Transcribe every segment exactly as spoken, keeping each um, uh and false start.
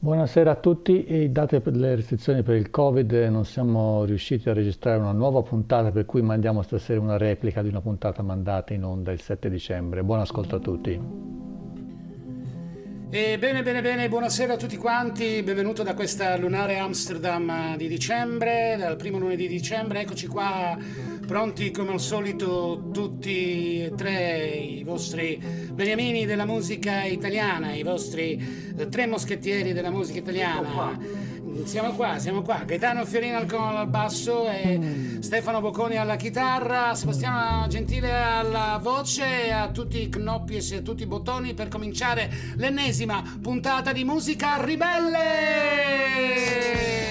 Buonasera a tutti. E date per le restrizioni per il Covid non siamo riusciti a registrare una nuova puntata, per cui mandiamo stasera una replica di una puntata mandata in onda il sette dicembre. Buon ascolto a tutti. E bene, bene, bene, buonasera a tutti quanti, benvenuto da questa lunare Amsterdam di dicembre, dal primo lunedì di dicembre. Eccoci qua, pronti come al solito tutti e tre i vostri beniamini della musica italiana, i vostri eh, tre moschettieri della musica italiana. Siamo qua, siamo qua, Gaetano Fiorino al, al basso e Stefano Bocconi alla chitarra, Sebastiano Gentile alla voce, a tutti i knoppi e a tutti i bottoni per cominciare l'ennesima puntata di Musica Ribelle!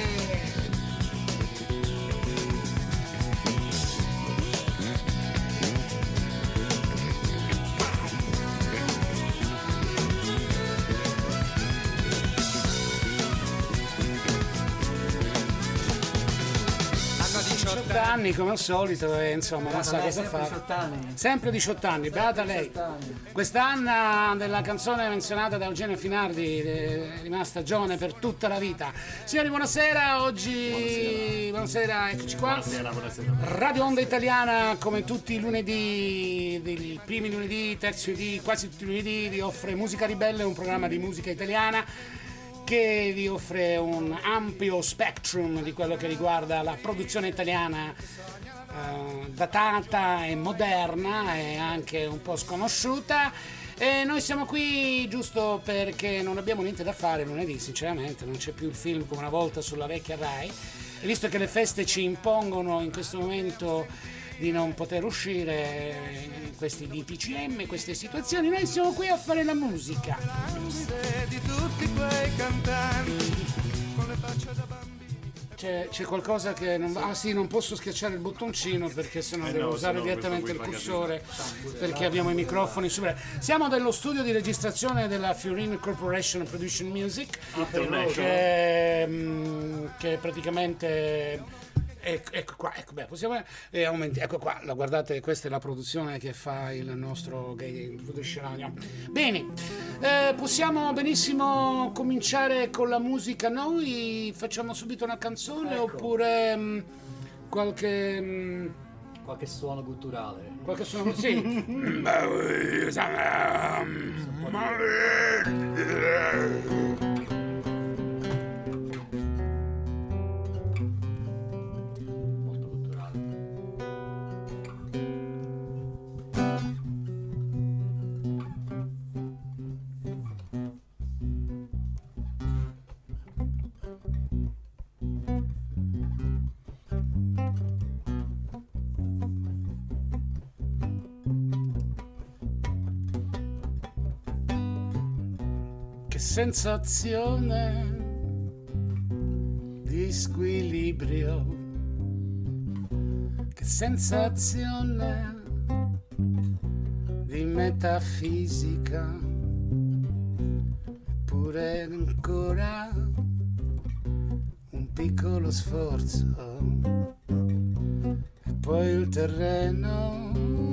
diciotto anni come al solito e insomma non sa cosa fare. diciotto anni. Sempre diciotto anni, beata lei. Questa Anna della canzone menzionata da Eugenio Finardi è rimasta giovane per tutta la vita. Signori, buonasera, oggi buonasera, eccoci qua. Buonasera, buonasera. Radio Onda Italiana, come tutti i lunedì, i primi lunedì, terzi lunedì, quasi tutti i lunedì, vi offre Musica Ribelle, un programma di musica italiana che vi offre un ampio spectrum di quello che riguarda la produzione italiana eh, datata e moderna e anche un po' sconosciuta. E noi siamo qui giusto perché non abbiamo niente da fare lunedì, sinceramente, non c'è più il film come una volta sulla vecchia Rai, e visto che le feste ci impongono in questo momento di non poter uscire in questi D P C M, queste situazioni, noi siamo qui a fare la musica. Di tutti quei cantanti con le facce da bambini. C'è, c'è qualcosa che non va. Ah sì, non posso schiacciare il bottoncino perché sennò Eh devo no, sennò sennò direttamente il questo cursore, perché abbiamo i microfoni su. Siamo dello studio di registrazione della Fiorino Corporation Production Music, che, mm, che praticamente Ecco, ecco qua, ecco, beh, possiamo, eh, aumenti, ecco qua, la guardate, questa è la produzione che fa il nostro gay. Bene, eh, possiamo benissimo cominciare con la musica. Noi facciamo subito una canzone, ecco. Oppure mh, qualche mh, qualche suono gutturale. Qualche suono, sì. Sensazione di squilibrio, che sensazione di metafisica, eppure ancora un piccolo sforzo e poi il terreno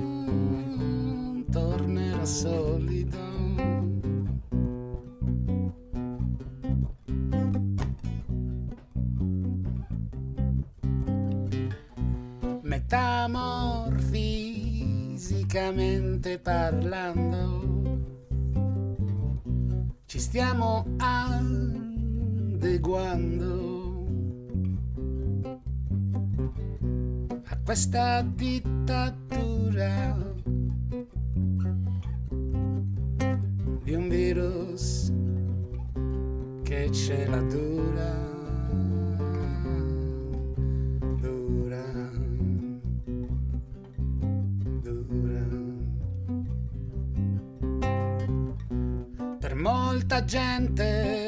tornerà solido. Metamorfisicamente parlando, ci stiamo adeguando a questa dittatura di un virus che ce la dura. Molta gente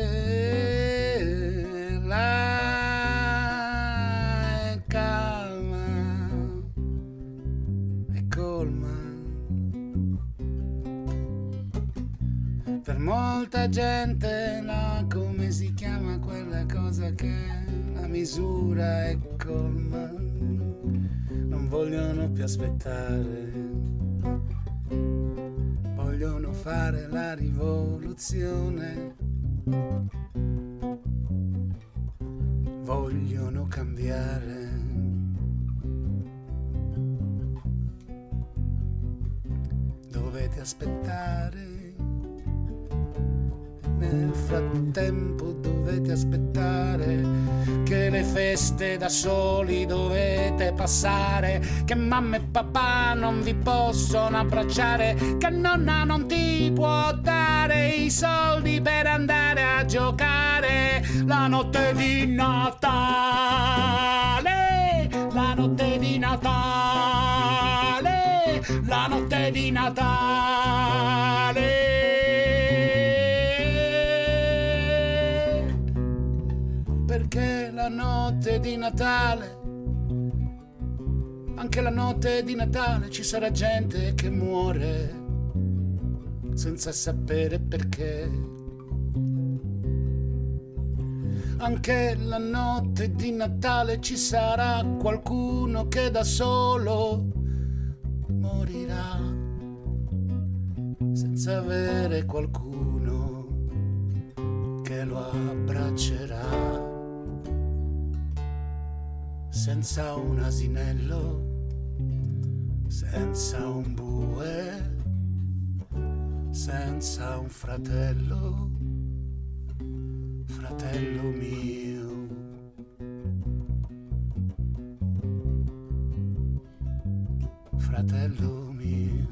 la è calma e colma, per molta gente la, come si chiama quella cosa che la misura è colma, non vogliono più aspettare, vogliono fare la rivoluzione vogliono cambiare. Dovete aspettare, nel frattempo dovete aspettare che le feste da soli dovete passare, che mamma e papà non vi possono abbracciare, che nonna non ti può dare i soldi per andare a giocare la notte di Natale, la notte di Natale, la notte di Natale. Perché la notte di Natale, anche la notte di Natale ci sarà gente che muore senza sapere perché. Anche la notte di Natale ci sarà qualcuno che da solo morirà senza avere qualcuno che lo abbraccerà. Senza un asinello, senza un bue, senza un fratello, fratello mio. Fratello mio.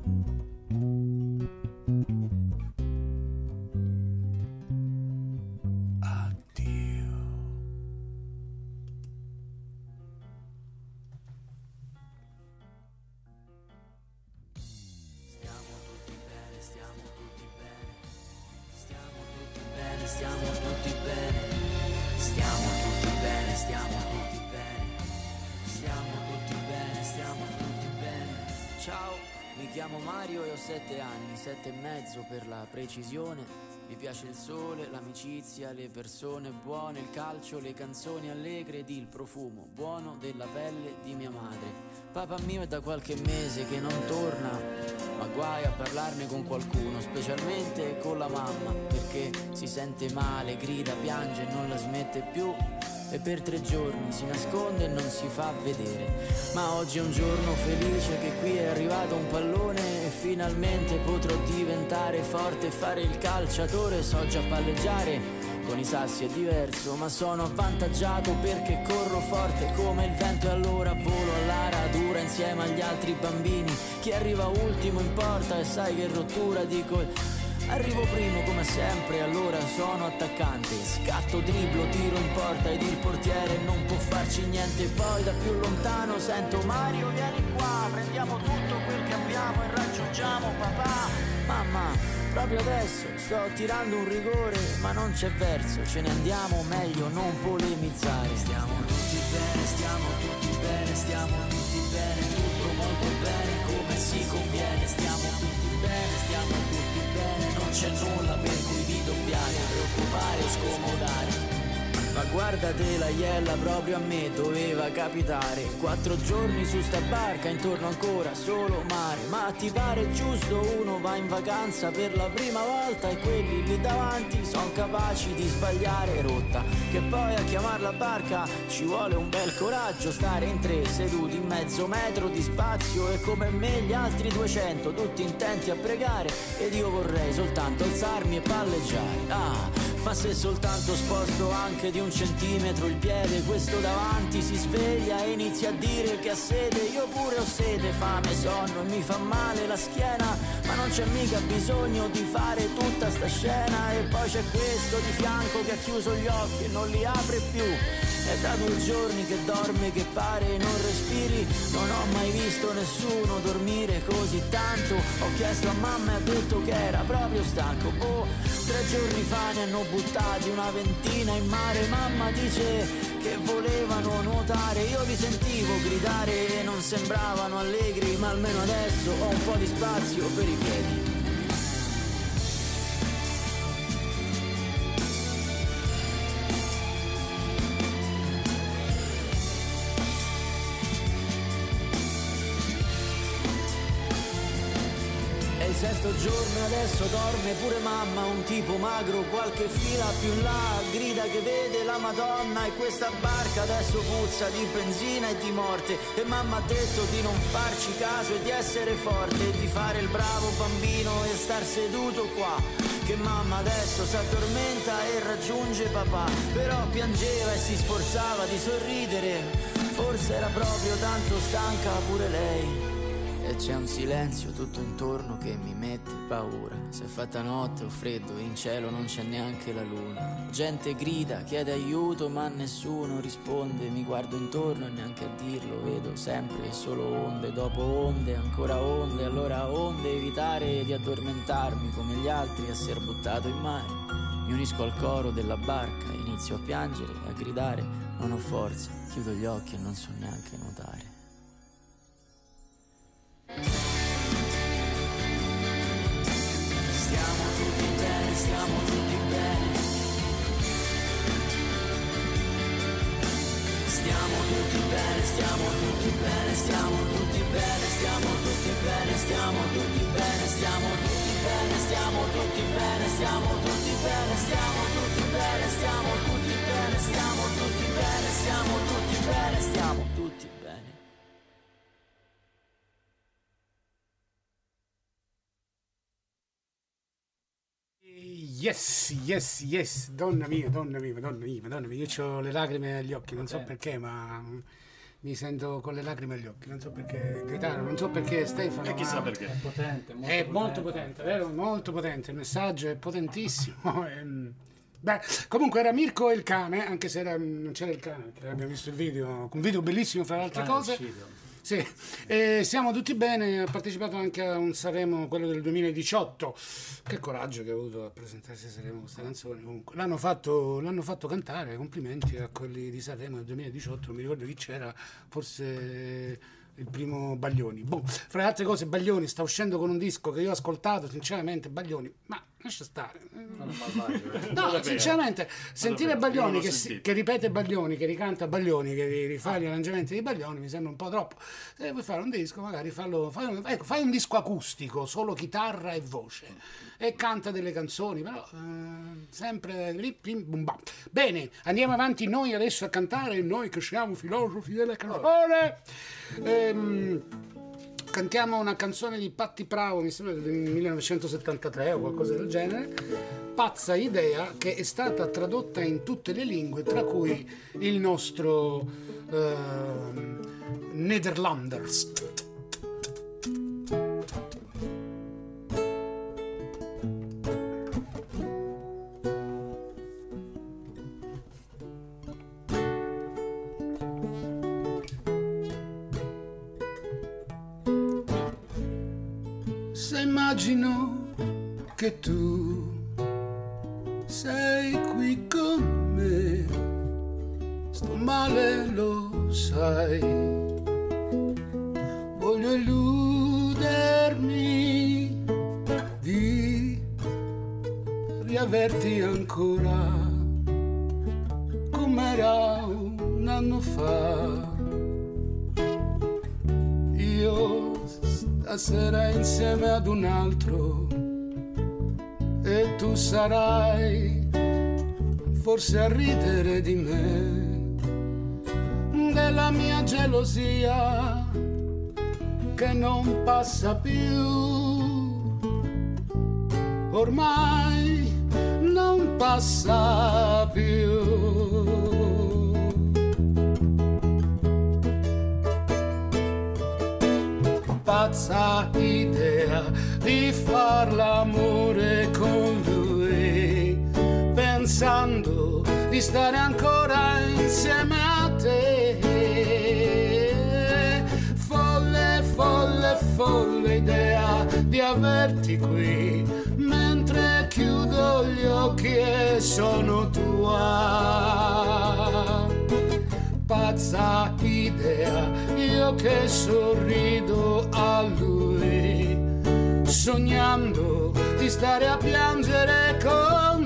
Sette anni, sette e mezzo per la precisione. Mi piace il sole, l'amicizia, le persone buone, il calcio, le canzoni allegre ed il profumo buono della pelle di mia madre. Papà mio è da qualche mese che non torna, ma guai a parlarne con qualcuno, specialmente con la mamma, perché si sente male, grida, piange e non la smette più. E per tre giorni si nasconde e non si fa vedere. Ma oggi è un giorno felice che qui è arrivato un pallone e finalmente potrò diventare forte e fare il calciatore. So già palleggiare, con i sassi è diverso, ma sono avvantaggiato perché corro forte come il vento e allora volo alla radura insieme agli altri bambini. Chi arriva ultimo importa e sai che rottura, dico arrivo primo come sempre, allora sono attaccante. Scatto, dribblo, tiro in porta ed il portiere non può farci niente. Poi da più lontano sento Mario, vieni qua, prendiamo tutto quel che abbiamo e raggiungiamo papà. Mamma, proprio adesso sto tirando un rigore, ma non c'è verso, ce ne andiamo, meglio non polemizzare. Stiamo tutti bene, stiamo tutti bene, stiamo tutti bene, tutto molto bene, come si conviene. Stiamo tutti bene, stiamo tutti bene, non c'è nulla per cui vi dobbiate preoccupare o scomodare. Ma guardate la iella, proprio a me doveva capitare. Quattro giorni su sta barca, intorno ancora solo mare. Ma ti pare giusto, uno va in vacanza per la prima volta e quelli lì davanti son capaci di sbagliare rotta. Che poi a chiamar la barca ci vuole un bel coraggio. Stare in tre seduti in mezzo metro di spazio e come me gli altri duecento tutti intenti a pregare. Ed io vorrei soltanto alzarmi e palleggiare. Ah, ma se soltanto sposto anche di un centimetro il piede, questo davanti si sveglia e inizia a dire che ha sede. Io pure ho sede, fame, sonno e mi fa male la schiena, ma non c'è mica bisogno di fare tutta sta scena. E poi c'è questo di fianco che ha chiuso gli occhi e non li apre più. È da due giorni che dorme, che pare non respiri. Non ho mai visto nessuno dormire così tanto. Ho chiesto a mamma e ha detto che era proprio stanco. Boh, tre giorni fa ne hanno buttati una ventina in mare. Mamma dice che volevano nuotare. Io li sentivo gridare e non sembravano allegri, ma almeno adesso ho un po' di spazio per i piedi. questo giorno e adesso dorme pure mamma, un tipo magro qualche fila più in là, grida che vede la Madonna e questa barca adesso puzza di benzina e di morte, e mamma ha detto di non farci caso e di essere forte e di fare il bravo bambino e star seduto qua, che mamma adesso s'addormenta e raggiunge papà, però piangeva e si sforzava di sorridere, forse era proprio tanto stanca pure lei. E c'è un silenzio tutto intorno che mi mette paura. Si è fatta notte o freddo e in cielo non c'è neanche la luna. Gente grida, chiede aiuto ma nessuno risponde. Mi guardo intorno e neanche a dirlo vedo sempre solo onde dopo onde, ancora onde, allora onde, evitare di addormentarmi come gli altri a ser buttato in mare. Mi unisco al coro della barca, inizio a piangere e a gridare, non ho forza, chiudo gli occhi e non so neanche nuotare. Stiamo tutti bene, stiamo tutti bene. Stiamo tutti bene, stiamo tutti bene, stiamo tutti bene, stiamo tutti bene, stiamo tutti bene, stiamo tutti bene, stiamo tutti bene, stiamo tutti bene, stiamo tutti bene, stiamo tutti bene, stiamo tutti bene, stiamo tutti bene, stiamo tutti bene. Yes, yes, yes, donna mia, donna mia, donna mia, donna mia, io ho le lacrime agli occhi, non so perché, ma mi sento con le lacrime agli occhi, non so perché, Gaetano, non so perché, Stefano. E chissà perché. È potente, molto È potente. molto potente, vero? Molto potente, il messaggio è potentissimo. ehm. Beh, comunque era Mirko e il cane, anche se era, non c'era il cane, perché abbiamo visto il video, un video bellissimo fra le altre Cane cose. uscito. Sì, e siamo tutti bene, ha partecipato anche a un Sanremo, quello del duemiladiciotto. Che coraggio che ha avuto a presentarsi a Sanremo questa canzone. Comunque l'hanno fatto, l'hanno fatto cantare, complimenti a quelli di Sanremo del duemiladiciotto, non mi ricordo chi c'era, forse il primo Baglioni. Boh, fra le altre cose Baglioni sta uscendo con un disco che io ho ascoltato, sinceramente Baglioni, ma lascia stare. Sono malvagio. No, sinceramente, sentire davvero, io Baglioni non che, l'ho si- sentito. che ripete Baglioni, che ricanta Baglioni, che rifà gli arrangiamenti di Baglioni mi sembra un po' troppo. Se vuoi fare un disco, magari fallo, fai, un, ecco, fai un disco acustico, solo chitarra e voce, e canta delle canzoni, però eh, sempre lì, pim, bum, bam. Bene, andiamo avanti noi adesso a cantare, noi che siamo filosofi della canzone. Ehm, Cantiamo una canzone di Patti Pravo, mi sembra del millenovecentosettantatré o qualcosa del genere, Pazza idea, che è stata tradotta in tutte le lingue, tra cui il nostro ehm, Nederlanders. Se immagino che tu sei qui con me, sto male, lo sai, voglio illudermi di riaverti ancora com'era un anno fa. Io stasera insieme ad un altro e tu sarai forse a ridere di me, della mia gelosia che non passa più, ormai non passa più. Pazza idea di far l'amore con lui, pensando di stare ancora insieme a te. Folle, folle, folle idea di averti qui, mentre chiudo gli occhi e sono tua. Pazza idea, io che sorrido a lui, sognando di stare a piangere con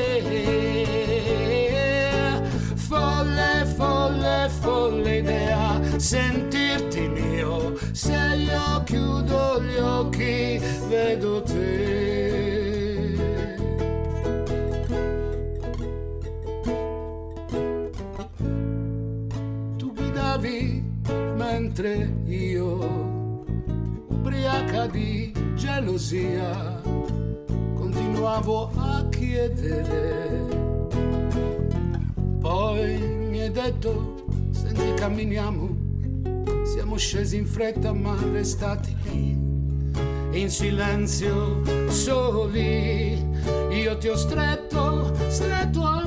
te. Folle, folle, folle idea, sentirti mio se io chiudo gli occhi vedo te. Tu guidavi mentre io, ubriaca di gelosia, continuavo a chiedere. Poi mi hai detto, senti camminiamo. Siamo scesi in fretta ma restati lì, in silenzio soli. Io ti ho stretto, stretto a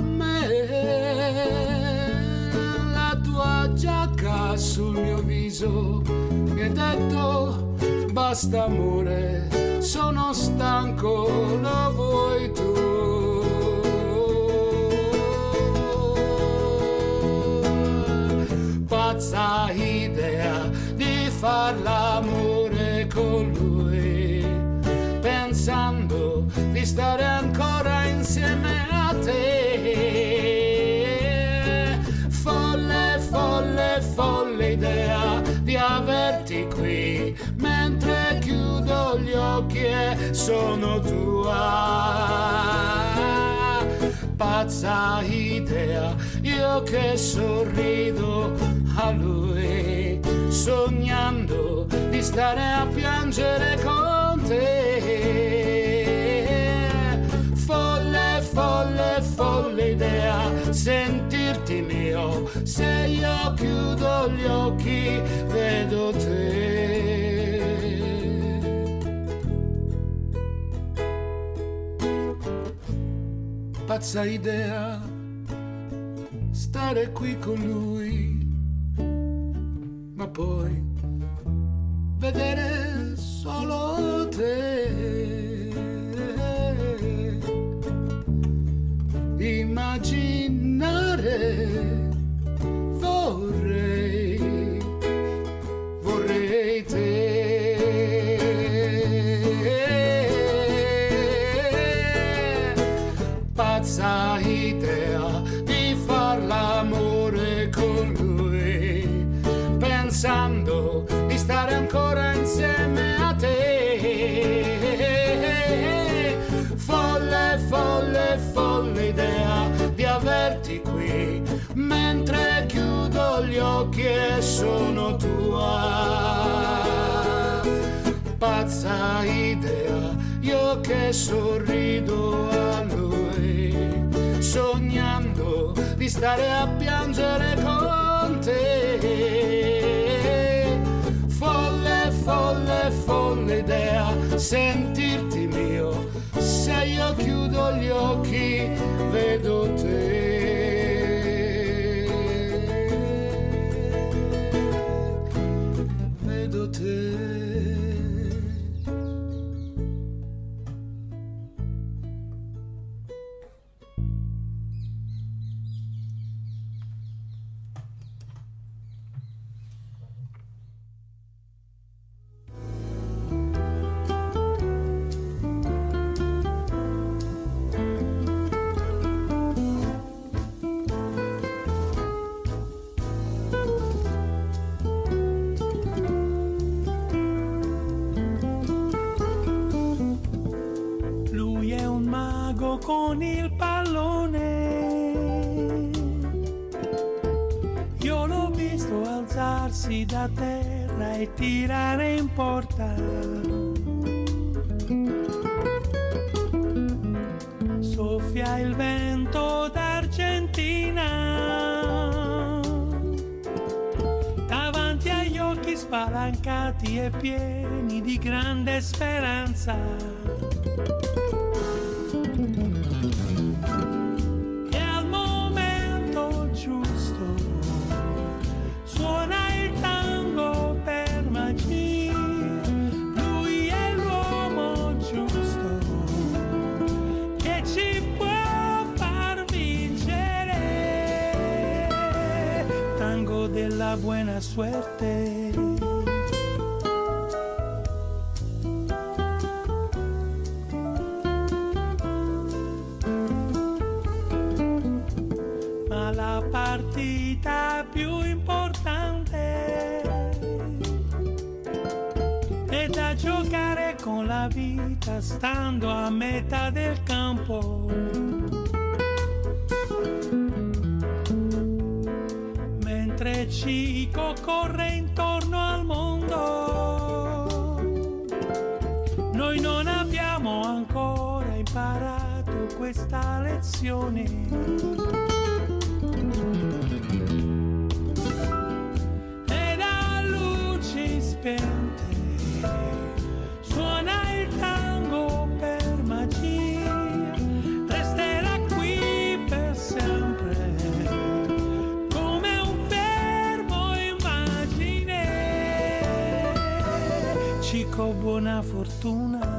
me, la tua giacca sul mio viso. Mi hai detto, basta amore, sono stanco, lo vuoi tu. Pazza idea di far l'amore con lui, pensando di stare ancora insieme a te. Folle, folle, folle idea di averti qui, mentre chiudo gli occhi e sono tua. Pazza idea, io che sorrido a lui, sognando di stare a piangere con te. Folle, folle, folle idea, sentirti mio, se io chiudo gli occhi vedo te. Pazza idea, stare qui con lui, ma poi vedere solo te. Immaginare vorrei, vorrei te. Pazza idea di far l'amore con lui, pensando di stare ancora insieme a te. Folle, folle, folle idea di averti qui, mentre chiudo gli occhi e sono tua. Pazza idea, io che sorrido a lui, sognando di stare a piangere con te. Folle, folle, folle idea, sentirti mio, se io chiudo gli occhi vedo te. Vedo te. Con il pallone, io l'ho visto alzarsi da terra e tirare in porta. Soffia il vento d'Argentina, davanti agli occhi spalancati e pieni di grande speranza. E al momento giusto suona il tango per magia. Lui è l'uomo giusto che ci può far vincere. Tango della buona suerte. partita più importante giocare con la vita stando a metà del campo. Mentre Cico corre intorno al mondo, noi non abbiamo ancora imparato questa lezione. Suona il tango per magia, resterà qui per sempre come un fermo immagine. Cico, buona fortuna.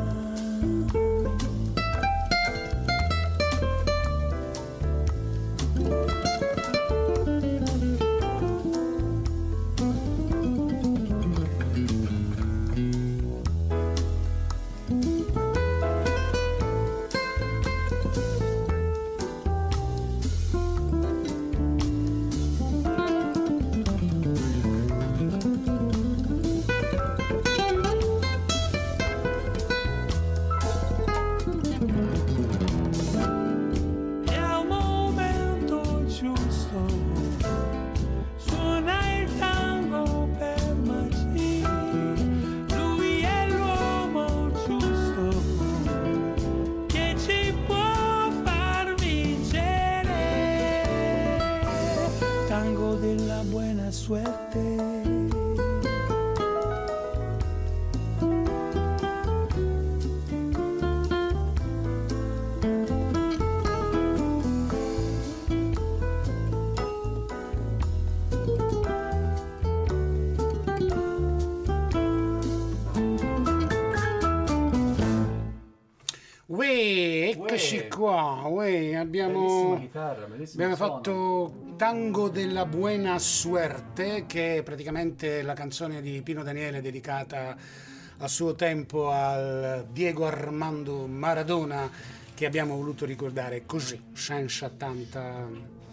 Eccoci qua, uè, abbiamo, chitarra, abbiamo fatto Tango della Buena Suerte, che è praticamente la canzone di Pino Daniele dedicata a suo tempo al Diego Armando Maradona, che abbiamo voluto ricordare così, senza tanta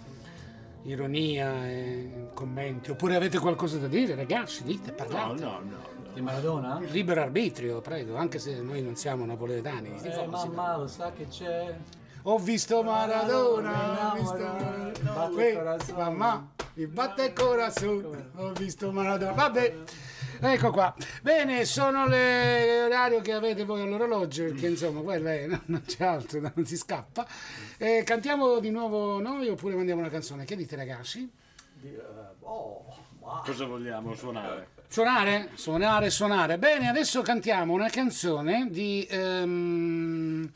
ironia e commenti. Oppure avete qualcosa da dire, ragazzi? Dite, parlate. No, no, no. Di Maradona? Libero arbitrio, prego, anche se noi non siamo napoletani. Eh, mamma, lo sa che c'è? Ho visto Maradona, ho visto Maradona, Maradona. Mamma, mi batte il corazon, ho visto Maradona. Vabbè, ecco qua. Bene, sono le orario che avete voi all'orologio, perché insomma, quello è, no, non c'è altro, non si scappa. Eh, cantiamo di nuovo noi oppure mandiamo una canzone? Che dite, ragazzi? Oh, cosa vogliamo suonare? Suonare? Suonare, suonare. Bene, adesso cantiamo una canzone di... Um,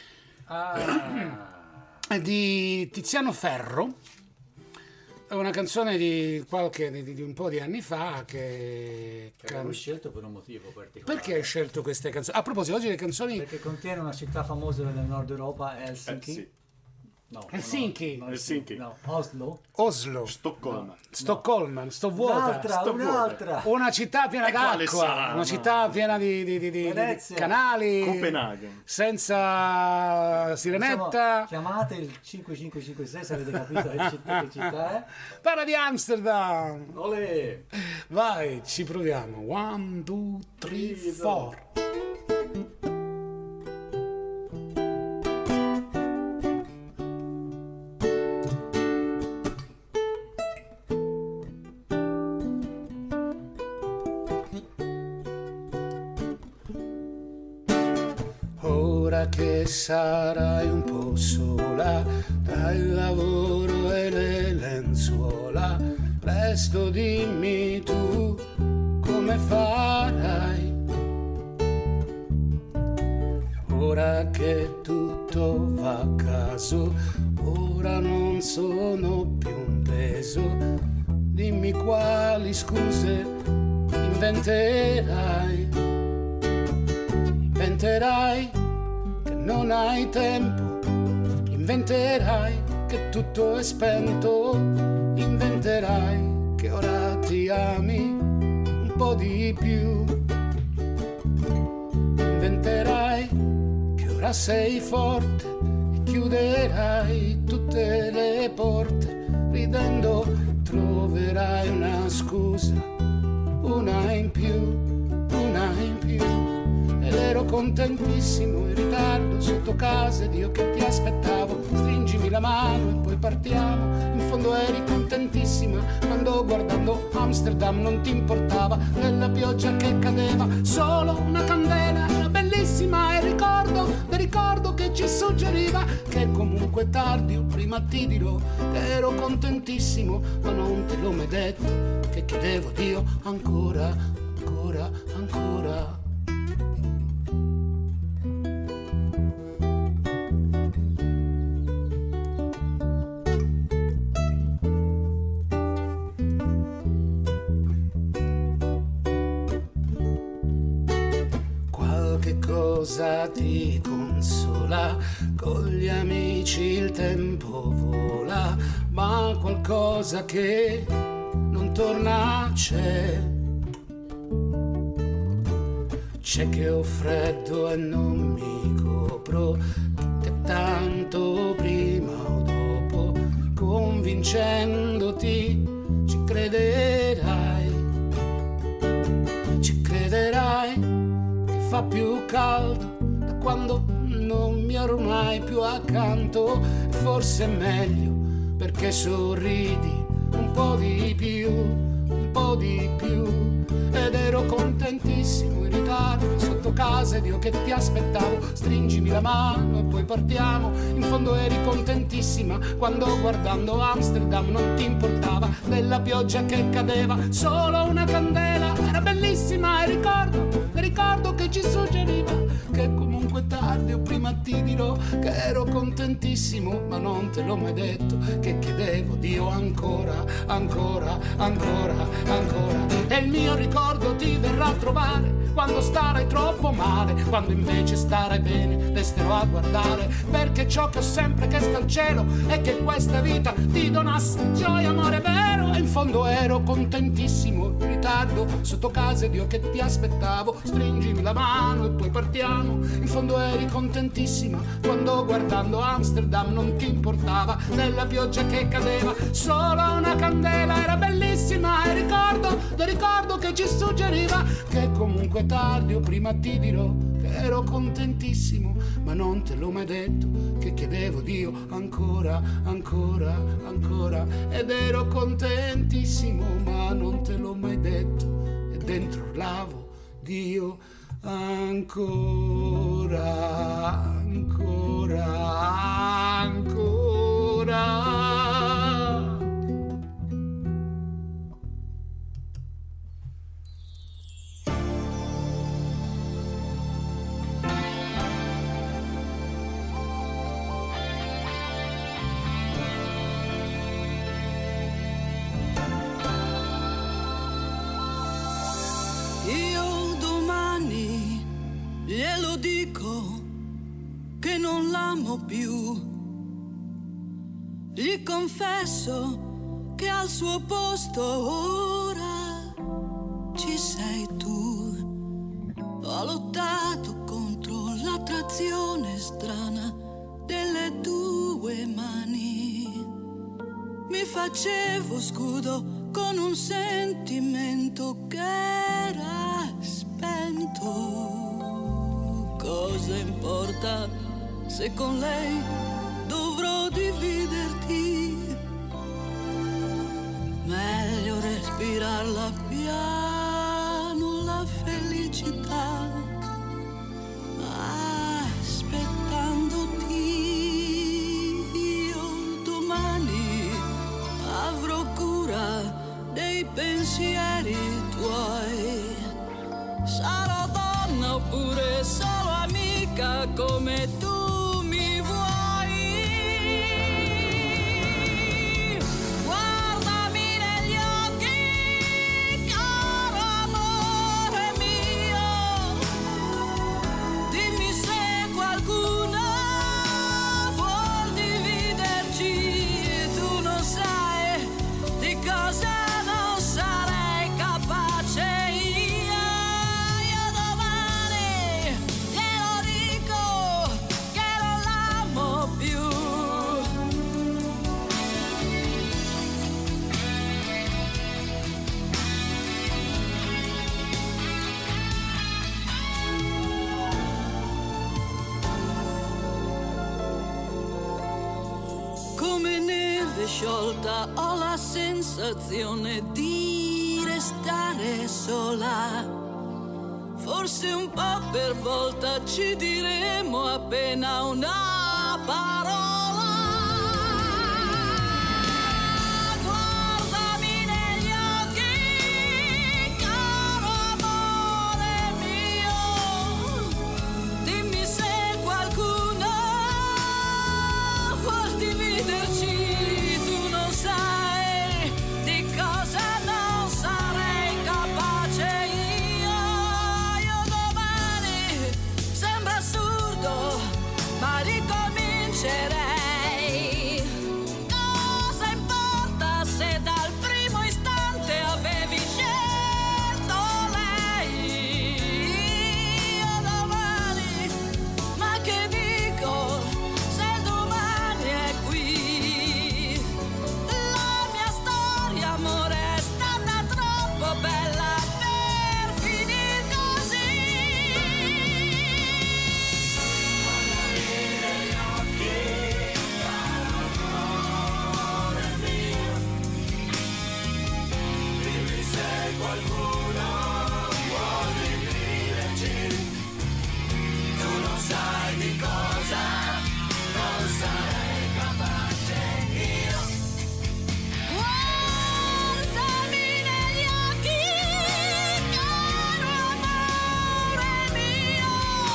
Ah. di Tiziano Ferro. È una canzone di qualche di, di un po' di anni fa che, che avevo scelto per un motivo particolare. Perché hai scelto queste canzoni? A proposito, oggi le canzoni... Perché contiene una città famosa nel nord Europa, Helsinki. Eh, sì. No, Helsinki. No, Helsinki. No, Oslo. Oslo. Stoccolma. Stoccolma, no. sto vuota. Un'altra, sto un'altra. Vuota. Una città piena e d'acqua, una no. città piena di, di, di, di, di canali. Copenaghen. Senza sirenetta. Insomma, chiamate il cinque cinque cinque sei se avete capito che città, che città è. Parla di Amsterdam. Olè. Vai, ci proviamo. One, two, three, four. Che sarai un po' sola tra il lavoro e le lenzuola, presto dimmi tu come farai. Ora che tutto va a caso, ora non sono più un peso, dimmi quali scuse inventerai. Inventerai non hai tempo, inventerai che tutto è spento, inventerai che ora ti ami un po' di più, inventerai che ora sei forte e chiuderai tutte le porte, ridendo troverai una scusa, una in più, una in più. contentissimo in ritardo sotto casa ed io che ti aspettavo. Stringimi la mano e poi partiamo. In fondo eri contentissima quando guardando Amsterdam non ti importava della pioggia che cadeva. Solo una candela era bellissima e ricordo, e ricordo che ci suggeriva che comunque tardi o prima ti dirò che ero contentissimo, ma non te l'ho mai detto, che chiedevo Dio ancora, ancora, ancora. Cosa ti consola, con gli amici il tempo vola, ma qualcosa che non torna c'è. C'è che ho freddo e non mi copro, che tanto prima o dopo, convincendoti, ci crederai, ci crederai. Fa più caldo da quando non mi hai ormai più accanto. Forse è meglio perché sorridi un po' di più, un po' di più. Ed ero contentissimo in ritardo sotto casa ed io che ti aspettavo. Stringimi la mano e poi partiamo. In fondo eri contentissima quando guardando Amsterdam non ti importava della pioggia che cadeva. Solo una candela era bellissima e ricordo, e ricordo che ci suggeriva che comunque tardi o prima ti dirò che ero contentissimo, ma non te l'ho mai detto, che chiedevo Dio ancora, ancora, ancora, ancora. E il mio ricordo ti verrà a trovare quando starai troppo male, quando invece starai bene resterò a guardare, perché ciò che ho sempre chiesto al cielo è che questa vita ti donasse gioia, amore vero. E in fondo ero contentissimo in ritardo sotto casa ed io che ti aspettavo. Stringimi la mano e poi partiamo. In fondo eri contentissima quando guardando Amsterdam non ti importava della pioggia che cadeva. Solo una candela era bellissima e ricordo, lo ricordo che ci suggeriva che comunque tardi o prima ti dirò che ero contentissimo, ma non te l'ho mai detto, che chiedevo Dio ancora, ancora, ancora. Ed ero contentissimo, ma non te l'ho mai detto, e dentro urlavo Dio ancora, ancora, ancora. Glielo dico che non l'amo più, gli confesso che al suo posto ora ci sei tu. Ho lottato contro l'attrazione strana delle due mani, mi facevo scudo con un sentimento che era spento. Cosa importa se con lei dovrò dividerti? Meglio respirarla piano la felicità, aspettandoti. Io domani avrò cura dei pensieri tuoi. Sarò donna oppure solo amica come tu mi vuoi. Guardami negli occhi, caro amore mio. Dimmi se qualcuno vuol dividerci. Tu non sai di cosa non sarei capace io. Io domani glielo dico sciolta, ho la sensazione di restare sola. Forse un po' per volta ci diremo appena una parola. Guardami negli occhi, caro amore mio, dimmi se qualcuno vuol dividerci. Tu non sai di cosa non sarei capace io. Io domani, sembra assurdo, ma ricomincerei. Cosa importa se dal primo istante avevi scelto lei? Io domani, ma che dico se domani è qui? La mia storia, amore, è stata troppo bella per finir così. Guardami negli occhi, caro amore mio,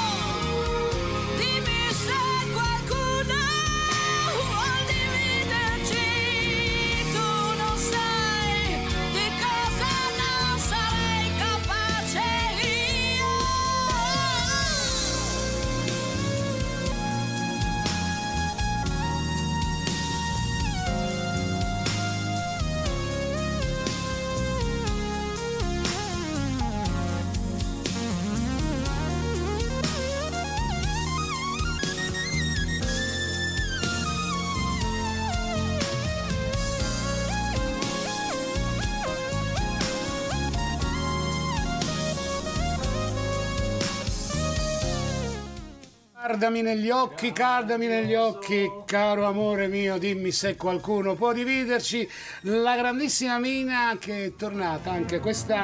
dimmi se qualcuno vuol dividerci. Tu non sai di cosa non sarei capace io. Guardami negli occhi, guardami negli occhi, caro amore mio, dimmi se qualcuno può dividerci. La grandissima Mina, che è tornata anche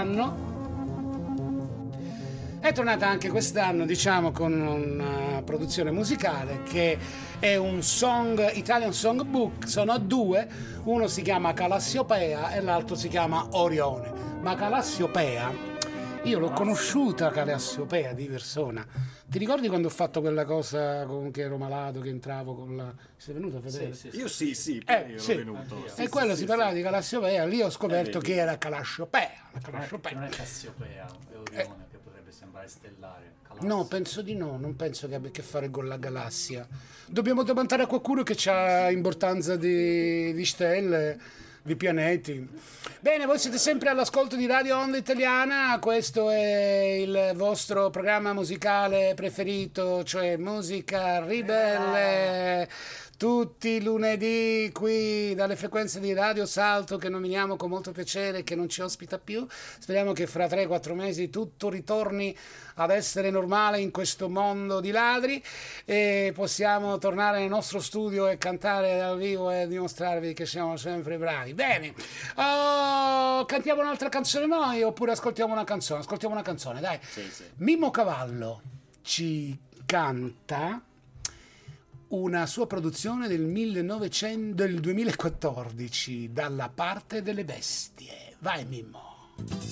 quest'anno, è tornata anche quest'anno, diciamo, con una produzione musicale che è un song, Italian Songbook. Sono due, uno si chiama Callassiopea e l'altro si chiama Orione. Ma Callassiopea, io l'ho conosciuta Callassiopea di persona. Ti ricordi quando ho fatto quella cosa con che ero malato, che entravo con la... Sei venuto a vedere? Sì, sì, sì. Io sì, sì, Eh, io sì. ero venuto. E quello si parlava di Callassiopea, lì ho scoperto Eh, che vedi. era Callassiopea. la Non è, Callassiopea. non è Cassiopea, è Orione che potrebbe sembrare stellare. Calassi. No, penso di no, non penso che abbia a che fare con la galassia. Dobbiamo domandare a qualcuno che ha importanza di, di stelle, di pianeti. Bene, voi siete sempre all'ascolto di Radio Onda Italiana, questo è il vostro programma musicale preferito, cioè musica ribelle. Tutti i lunedì qui dalle frequenze di Radio Salto, che nominiamo con molto piacere, che non ci ospita più. Speriamo che fra tre quattro mesi tutto ritorni ad essere normale in questo mondo di ladri e possiamo tornare nel nostro studio e cantare dal vivo e dimostrarvi che siamo sempre bravi. Bene, oh, cantiamo un'altra canzone noi oppure ascoltiamo una canzone? Ascoltiamo una canzone, dai. Sì, sì. Mimmo Cavallo ci canta una sua produzione del millenovecento, del duemilaquattordici, Dalla parte delle bestie. Vai Mimmo.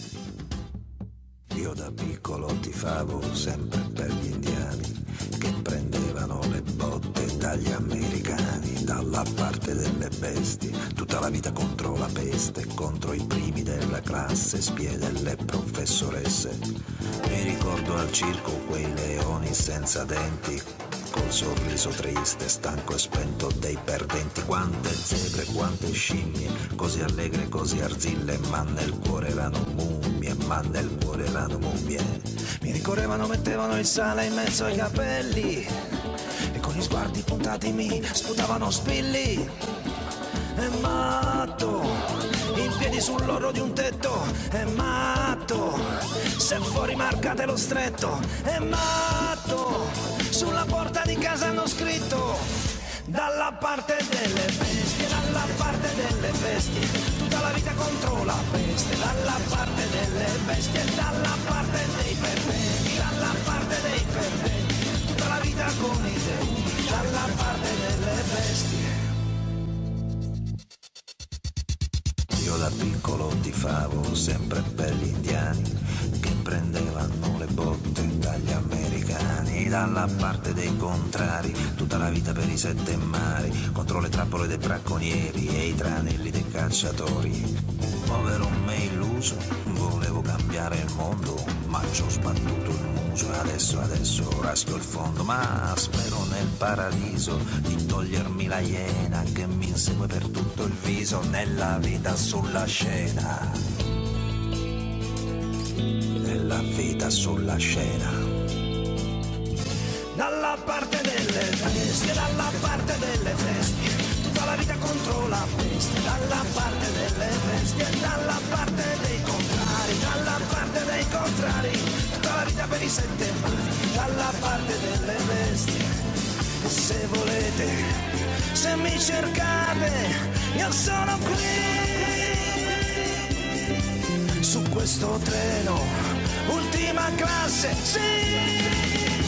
Io da piccolo tifavo sempre per gli indiani che prendevano le botte dagli americani, dalla parte delle bestie, tutta la vita contro la peste, contro i primi della classe, spie delle professoresse. Mi ricordo al circo quei leoni senza denti, col sorriso triste, stanco e spento dei perdenti. Quante zebre, quante scimmie, così allegre, così arzille, ma nel cuore erano mummie, ma nel cuore erano mummie. Mi ricorrevano, mettevano il sale in mezzo ai capelli e con gli sguardi puntati mi sputavano spilli. È matto, in piedi sull'orlo di un tetto, è matto, se fuori marcate lo stretto, è matto, sulla porta di casa hanno scritto dalla parte delle bestie, dalla parte delle bestie, tutta la vita contro la peste, dalla parte delle bestie, dalla parte dei perventi, dalla parte dei perventi, tutta la vita con i denti, dalla parte delle bestie. Io da piccolo tifavo sempre per gli indiani che prendevano le botte dagli americani, dalla parte dei contrari, tutta la vita per i sette mari, contro le trappole dei bracconieri e i tranelli dei cacciatori. Povero me illuso, volevo cambiare il mondo, ma ci ho sbattuto il muso e adesso, adesso raschio il fondo, ma spero nel paradiso di togliermi la iena che mi insegue per tutto il viso nella vita sulla scena, nella vita sulla scena. Dalla parte delle bestie, dalla parte delle bestie, tutta la vita contro la peste, dalla parte delle bestie, dalla parte dei contrari, dalla parte dei contrari, tutta la vita per i sette mari, dalla parte delle bestie. E se volete, se mi cercate, io sono qui, su questo treno, ultima classe, sì.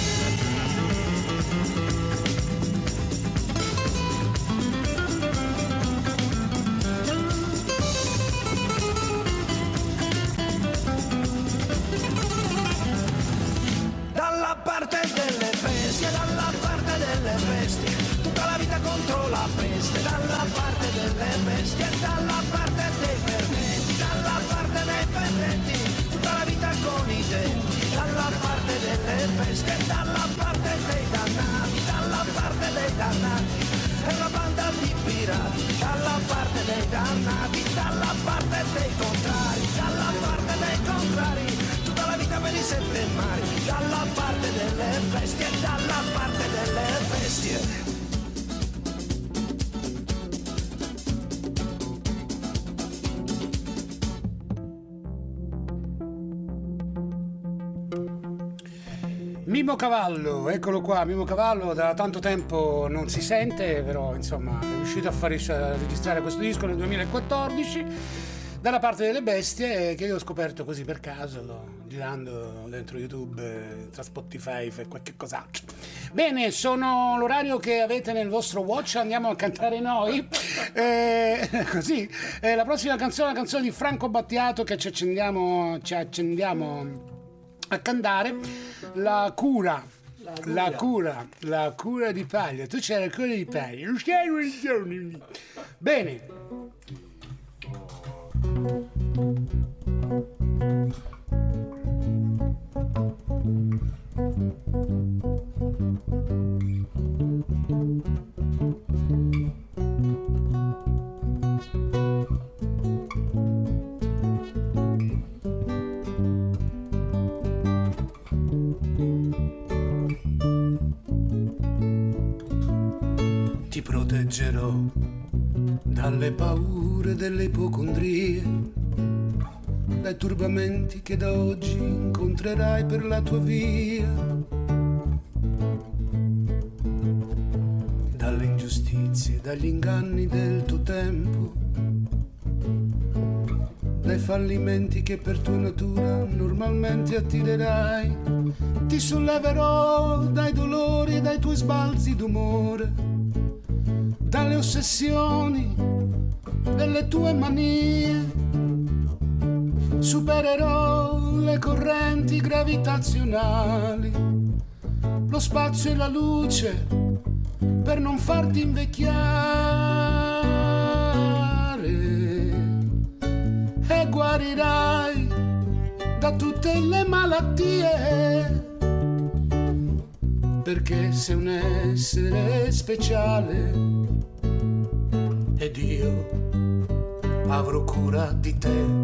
Contro la peste, dalla parte delle bestie, dalla parte dei perventi, dalla parte dei perventi, tutta la vita con i denti, dalla parte delle bestie, dalla parte dei dannati, dalla parte dei dannati, è una banda di pirati, dalla parte dei dannati, dalla parte dei contrari, dalla parte dei contrari, tutta la vita per i sette mari, dalla parte delle bestie, dalla parte delle bestie. Mimo Cavallo, eccolo qua, Mimo Cavallo, da tanto tempo non si sente, però insomma è riuscito a far a registrare questo disco nel duemilaquattordici, dalla parte delle bestie, che io ho scoperto così per caso, girando dentro YouTube, tra Spotify e qualche cos'altro. Bene, sono l'orario che avete nel vostro watch, andiamo a cantare noi, eh, così, eh, la prossima canzone è una canzone di Franco Battiato che ci accendiamo, ci accendiamo a cantare, la cura, la cura, la cura di paglia. Tu c'hai la cura di paglia, non c'hai religione. Bene. Ti proteggerò dalle paure delle ipocondrie, dai turbamenti che da oggi incontrerai per la tua via, dalle ingiustizie, dagli inganni del tuo tempo, dai fallimenti che per tua natura normalmente attirerai. Ti solleverò dai dolori e dai tuoi sbalzi d'umore, dalle ossessioni delle tue manie. Supererò le correnti gravitazionali, lo spazio e la luce per non farti invecchiare, e guarirai da tutte le malattie, perché sei un essere speciale ed io avrò cura di te.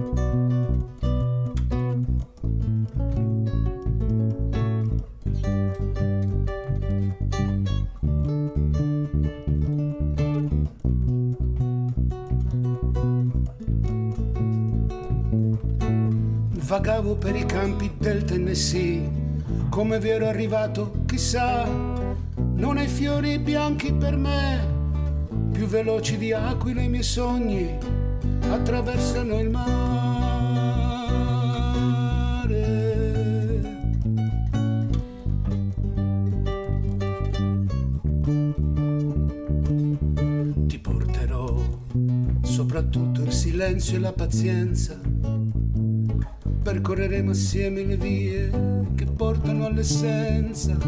Vagavo per i campi del Tennessee, come vi ero arrivato chissà, non hai fiori bianchi per me, più veloci di aquile i miei sogni attraversano il mare. Ti porterò soprattutto il silenzio e la pazienza, percorreremo assieme le vie che portano all'essenza,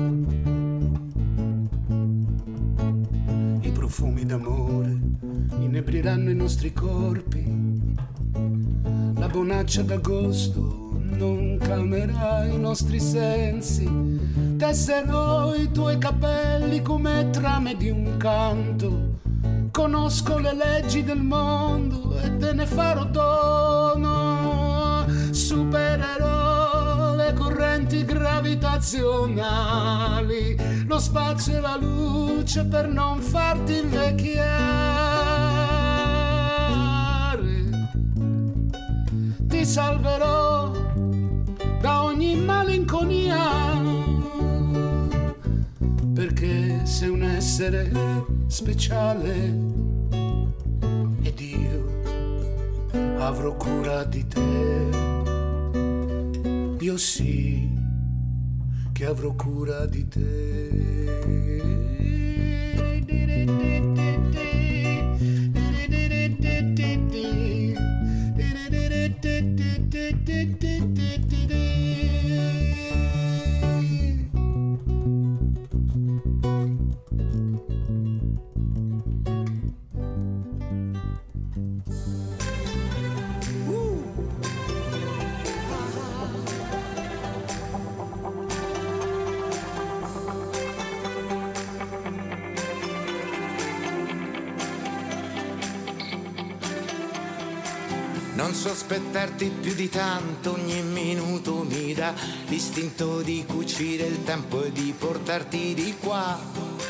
i profumi d'amore inebriranno i nostri corpi, la bonaccia d'agosto non calmerà i nostri sensi, tesserò i tuoi capelli come trame di un canto, conosco le leggi del mondo e te ne farò dono, supererò le correnti gravitazionali, lo spazio e la luce per non farti invecchiare, ti salverò da ogni malinconia, perché sei un essere speciale ed io avrò cura di te, io sì che avrò cura di te. Non sospettarti più di tanto, ogni minuto mi dà l'istinto di cucire il tempo e di portarti di qua.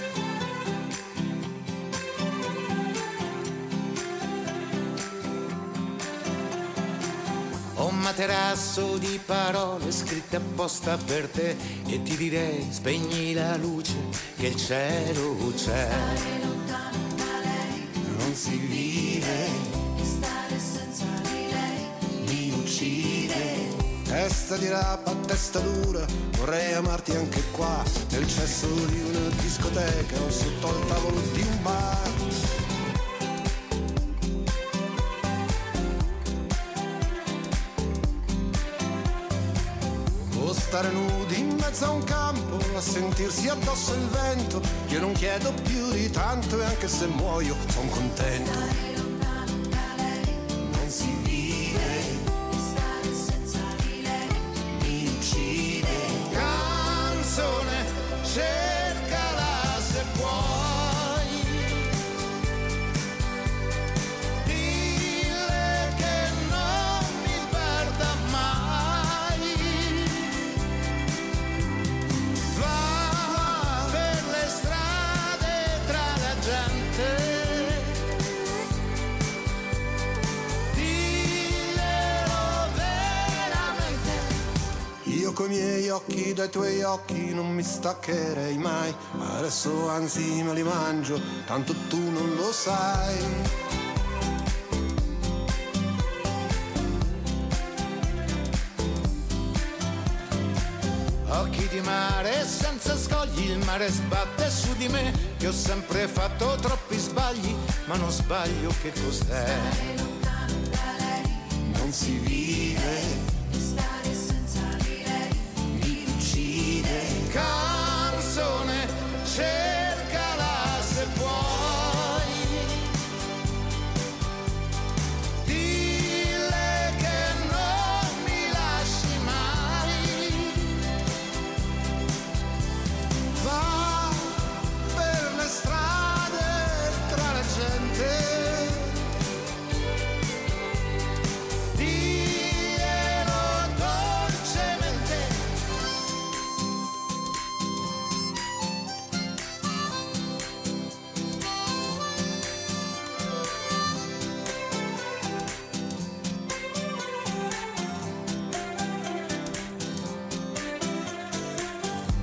Ho un materasso di parole scritte apposta per te e ti direi spegni la luce che il cielo c'è. Stare lontano da lei non si vive. Testa di rapa, testa dura, vorrei amarti anche qua, nel cesso di una discoteca o sotto al tavolo di un bar. O stare nudi in mezzo a un campo, a sentirsi addosso il vento, io non chiedo più di tanto e anche se muoio son contento. Stare lontano da lei non si vive. Cercala se puoi, dille che non mi perda mai, va per le strade tra la gente, dillelo veramente. Io coi miei occhi dai tuoi occhi non mi staccherei mai, ma adesso anzi me li mangio, tanto tu non lo sai. Occhi di mare senza scogli, il mare sbatte su di me, che ho sempre fatto troppi sbagli, ma non sbaglio che cos'è. Stare lontano da lei non si vive. Stare senza di lei mi uccide. Canzone, cercala se puoi, dille che non mi lasci mai, Va per le strade tra la gente, dille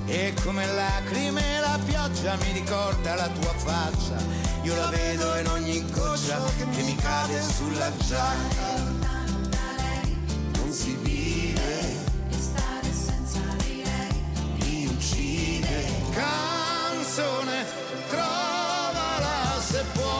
E come lacrime la pioggia mi ricorda la tua faccia. Io la vedo in ogni goccia che mi cade sulla giacca. Non si vive e stare senza di lei mi uccide. Canzone, trovala se puoi.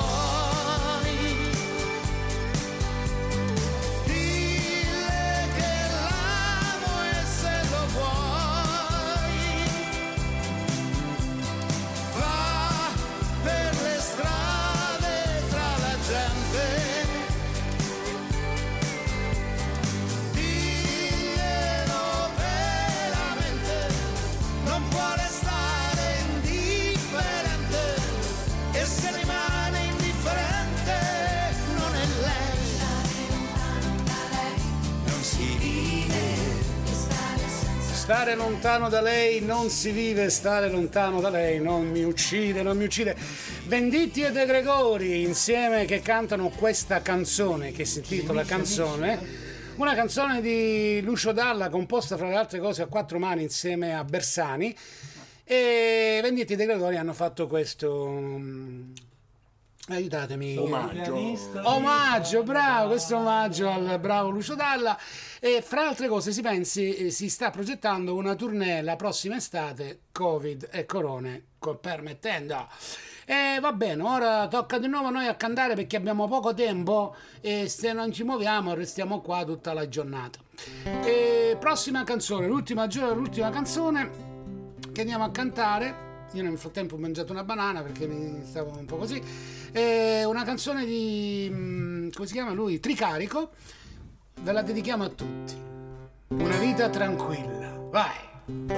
Stare lontano da lei non si vive, stare lontano da lei non mi uccide, non mi uccide. Venditti e De Gregori insieme che cantano questa canzone che si intitola Canzone, una canzone di Lucio Dalla composta fra le altre cose a quattro mani insieme a Bersani, e Venditti e De Gregori hanno fatto questo... aiutatemi, omaggio omaggio bravo, questo omaggio al bravo Lucio Dalla. E fra altre cose si pensi, si sta progettando una tournée la prossima estate, Covid e corone permettendo. E va bene, ora tocca di nuovo a noi a cantare perché abbiamo poco tempo e se non ci muoviamo restiamo qua tutta la giornata. E prossima canzone, l'ultima giorno, l'ultima canzone che andiamo a cantare. Io nel frattempo ho mangiato una banana perché mi stavo un po' così. È una canzone di, come si chiama lui? Tricarico. Ve la dedichiamo a tutti. Una vita tranquilla. Vai!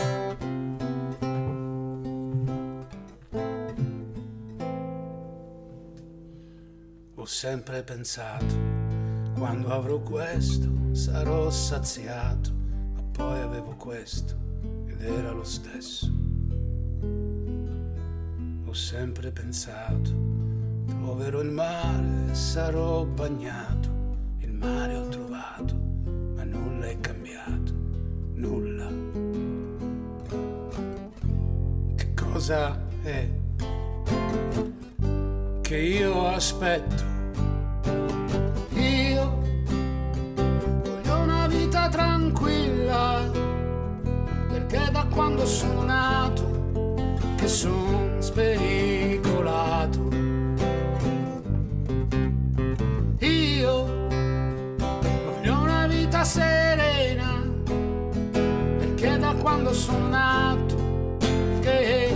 Ho sempre pensato, quando avrò questo sarò saziato, ma poi avevo questo ed era lo stesso. Ho sempre pensato, troverò il mare, sarò bagnato, il mare ho trovato, ma nulla è cambiato, nulla. Che cosa è che io aspetto? Io voglio una vita tranquilla, perché da quando sono nato che sono spericolato. Io voglio una vita serena, perché da quando sono nato che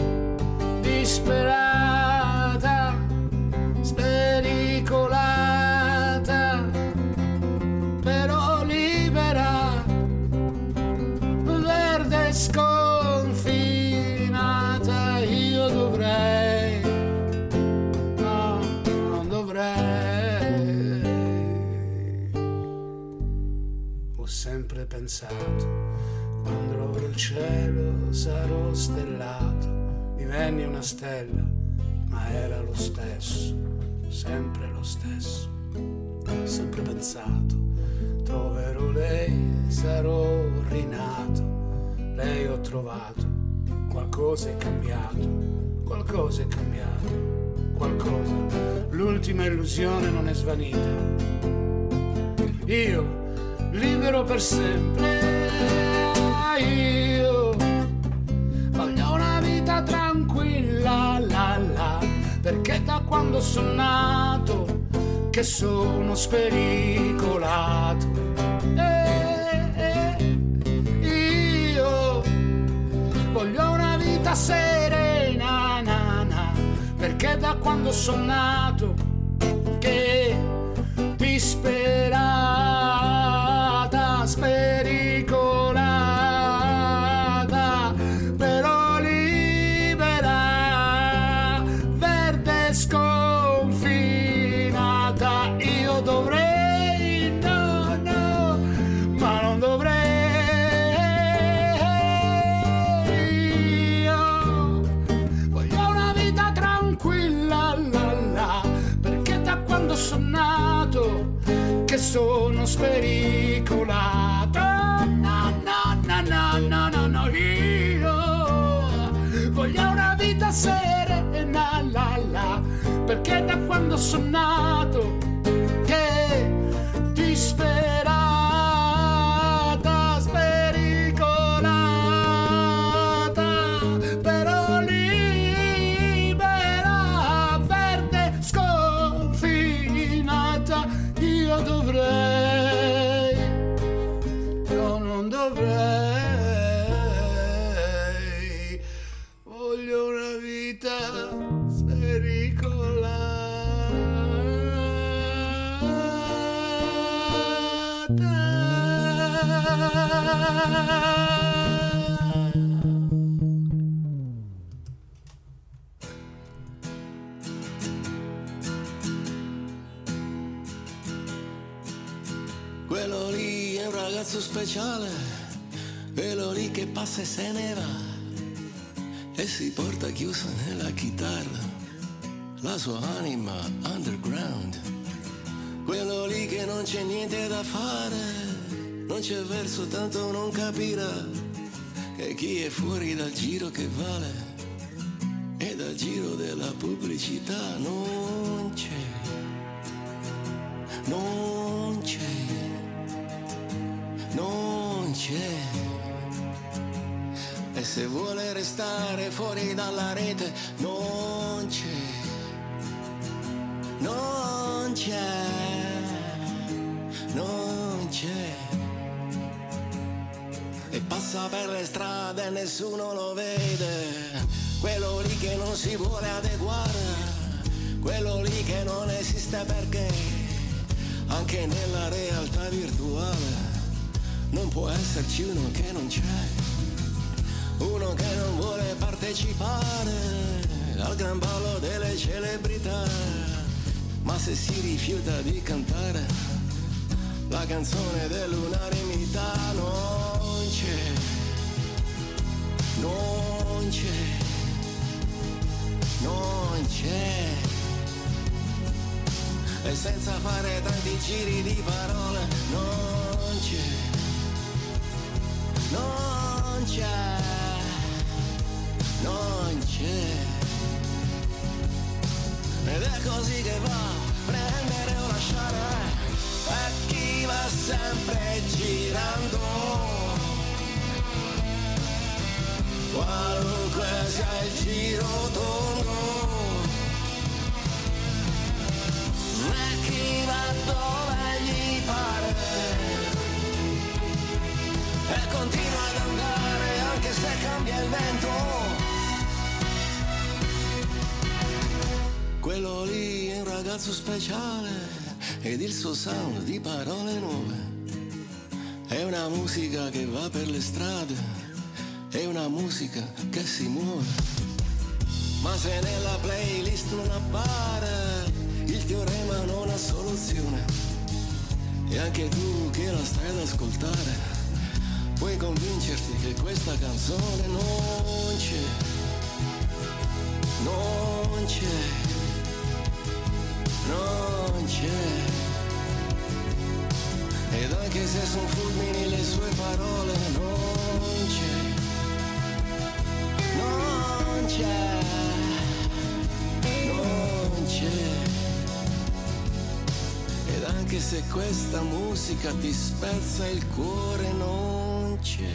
disperata, spericolata, però libera, verde sconfinata. Io dovrei, no, non dovrei. Ho sempre pensato, quando avrò il cielo sarò stellato. Divenni una stella, ma era lo stesso, sempre lo stesso. Ho sempre pensato, troverò lei, sarò rinato. Lei ho trovato, qualcosa è cambiato, qualcosa è cambiato, qualcosa. L'ultima illusione non è svanita. Io, libero per sempre, io voglio una vita tranquilla, la la, perché da quando sono nato che sono spericolato. Eh, eh, io voglio una vita serena, na, na, perché da quando sono nato che disperata, spericolata, però libera, verde sconfinata. Io dovrei, no, no, ma non dovrei. Io voglio una vita tranquilla, la la, perché da quando sono nato che sono spericolato. No, no, no, no, no, no, no. Io son nato che disperata, spericolata, però libera, verde, sconfinata. Io dovrei, no, non dovrei, voglio una vita Quello lì è un ragazzo speciale, quello lì che passa e se ne va e si porta chiusa nella chitarra la sua anima underground. Quello lì che non c'è niente da fare, non c'è verso, tanto non capirà che chi è fuori dal giro che vale e dal giro della pubblicità non c'è, non c'è, non c'è. E se vuole restare fuori dalla rete non c'è, non c'è, non c'è. E passa per le strade e nessuno lo vede, quello lì che non si vuole adeguare, quello lì che non esiste perché anche nella realtà virtuale non può esserci uno che non c'è, uno che non vuole partecipare al gran ballo delle celebrità, ma se si rifiuta di cantare la canzone dell'unanimità non c'è, non c'è, non c'è. E senza fare tanti giri di parole non c'è, non c'è, non c'è. Ed è così che va, prendere o lasciare, per chi va sempre girando, qualunque sia il giro tondo, e chi va dove gli pare e continua ad andare anche se cambia il vento. Quello lì è un ragazzo speciale ed il suo sound di parole nuove è una musica che va per le strade, è una musica che si muove. Ma se nella playlist non appare, il teorema non ha soluzione. E anche tu che la stai ad ascoltare puoi convincerti che questa canzone non c'è, non c'è, non c'è. Ed anche se son fulmini le sue parole non c'è, non c'è, non c'è. Ed anche se questa musica ti spezza il cuore non c'è.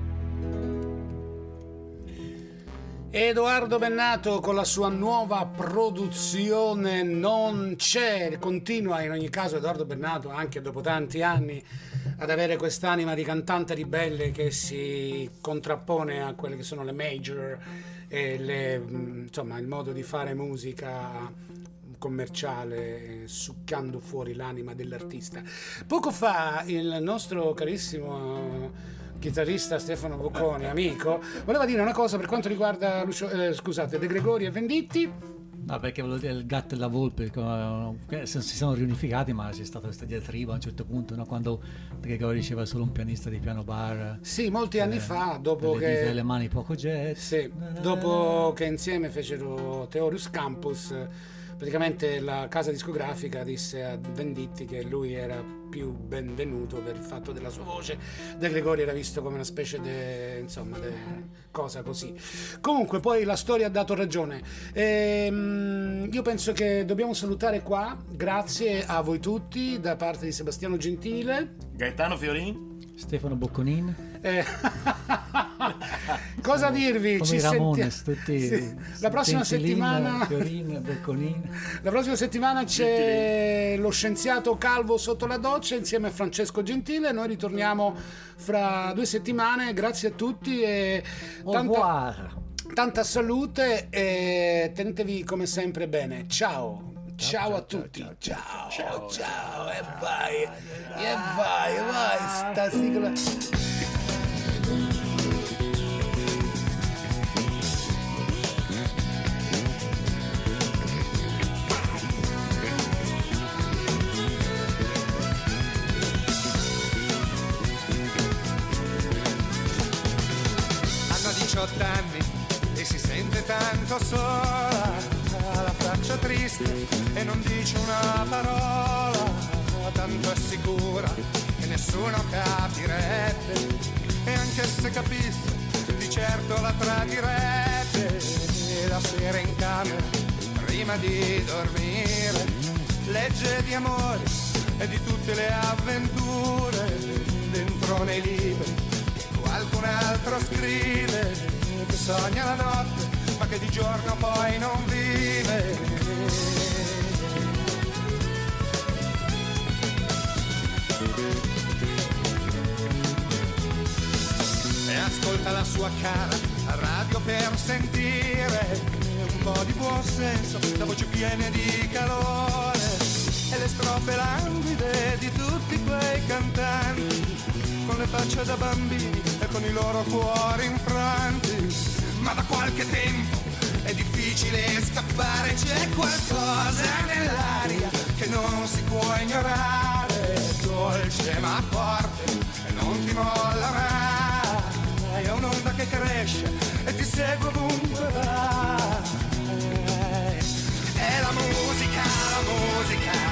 Edoardo Bennato con la sua nuova produzione Non c'è. Continua in ogni caso Edoardo Bennato anche dopo tanti anni ad avere quest'anima di cantante ribelle che si contrappone a quelle che sono le major e le, insomma, il modo di fare musica commerciale, succando fuori l'anima dell'artista. Poco fa il nostro carissimo chitarrista Stefano Bocconi, amico, voleva dire una cosa per quanto riguarda Lucio, eh, scusate, De Gregori e Venditti. No, perché volevo dire il gatto e la volpe eh, si sono riunificati, ma c'è stata questa diatriba a un certo punto, no? Quando De Gregori diceva solo un pianista di piano bar. Sì, molti eh, anni fa, dopo le che dita e le mani poco jet. Sì, dopo che insieme fecero Theorus Campus, praticamente la casa discografica disse a Venditti che lui era più benvenuto per il fatto della sua voce. De Gregori era visto come una specie di, insomma, de cosa così. Comunque poi la storia ha dato ragione. Ehm, io penso che dobbiamo salutare qua. Grazie a voi tutti da parte di Sebastiano Gentile, Gaetano Fiorin, Stefano Bocconin. Eh, cosa dirvi? Come Ci i Ramones, senti... tutti sì. La prossima Gentilin, settimana Fiorin, Bocconin. La prossima settimana c'è lo scienziato Calvo sotto la doccia insieme a Francesco Gentile. Noi ritorniamo fra due settimane. Grazie a tutti e tanta, tanta salute e tenetevi come sempre bene. Ciao. Ciao, ciao, ciao a tutti, ciao, ciao, ciao, ciao, e vai, e vai, vai, sta sigla. Hanno diciotto anni e si sente tanto sola, la faccia triste e non dice una parola, tanto è sicura che nessuno capirebbe, e anche se capisse di certo la tradirebbe. E la sera in camera prima di dormire legge di amore e di tutte le avventure dentro nei libri che qualcun altro scrive, che sogna la notte ma che di giorno poi non vive. E ascolta la sua cara a radio per sentire un po' di buon senso, da voci piene di calore e le strofe languide di tutti quei cantanti con le facce da bambini e con i loro cuori infranti. Ma da qualche tempo è difficile scappare, c'è qualcosa nell'aria che non si può ignorare, dolce ma forte e non ti molla mai, è un'onda che cresce e ti segue ovunque vai. È la musica, la musica